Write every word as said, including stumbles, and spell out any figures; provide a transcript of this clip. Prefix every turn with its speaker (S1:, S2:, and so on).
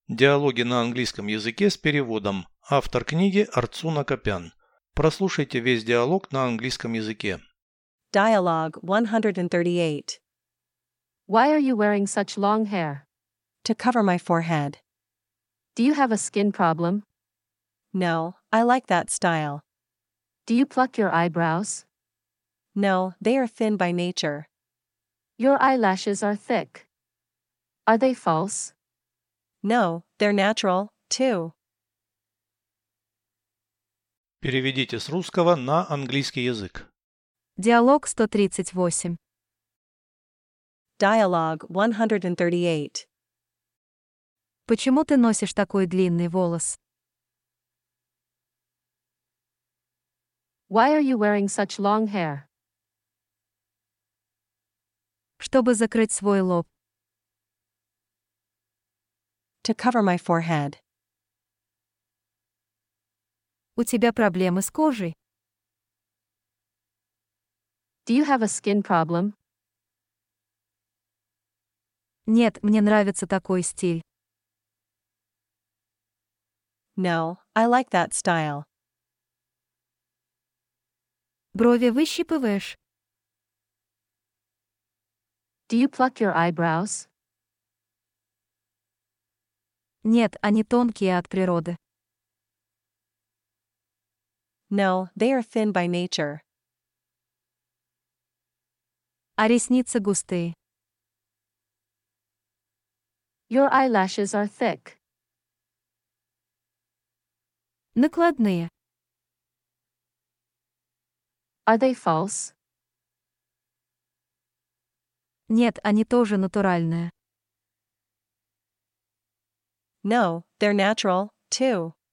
S1: Диалоги на английском языке с переводом. Автор книги Арцуна Копян. Прослушайте весь диалог на английском языке.
S2: Dialogue one thirty-eight.
S3: Why are you wearing such long hair?
S2: To cover my forehead.
S3: Do you have a skin problem?
S2: No, I like that style.
S3: Do you pluck your eyebrows?
S2: No, they are thin by nature.
S3: Your eyelashes are thick. Are they false?
S2: No, they're natural, too.
S1: Переведите с русского на английский язык.
S4: Диалог сто тридцать восемь.
S2: Dialogue one thirty-eight.
S4: Почему ты носишь такой длинный волос?
S3: Why are you wearing such long hair?
S4: Чтобы закрыть свой лоб.
S2: To cover my forehead.
S4: У тебя проблемы с кожей?
S3: Do you have a skin problem?
S4: Нет, мне нравится такой стиль.
S2: No, I like that style.
S4: Брови выщипываешь?
S3: Do you pluck your eyebrows?
S4: Нет, они тонкие от природы.
S2: No, they are thin by nature.
S4: А ресницы густые.
S3: Your eyelashes are thick.
S4: Накладные.
S3: Are they false?
S4: Нет, они тоже натуральные.
S2: No, they're natural, too.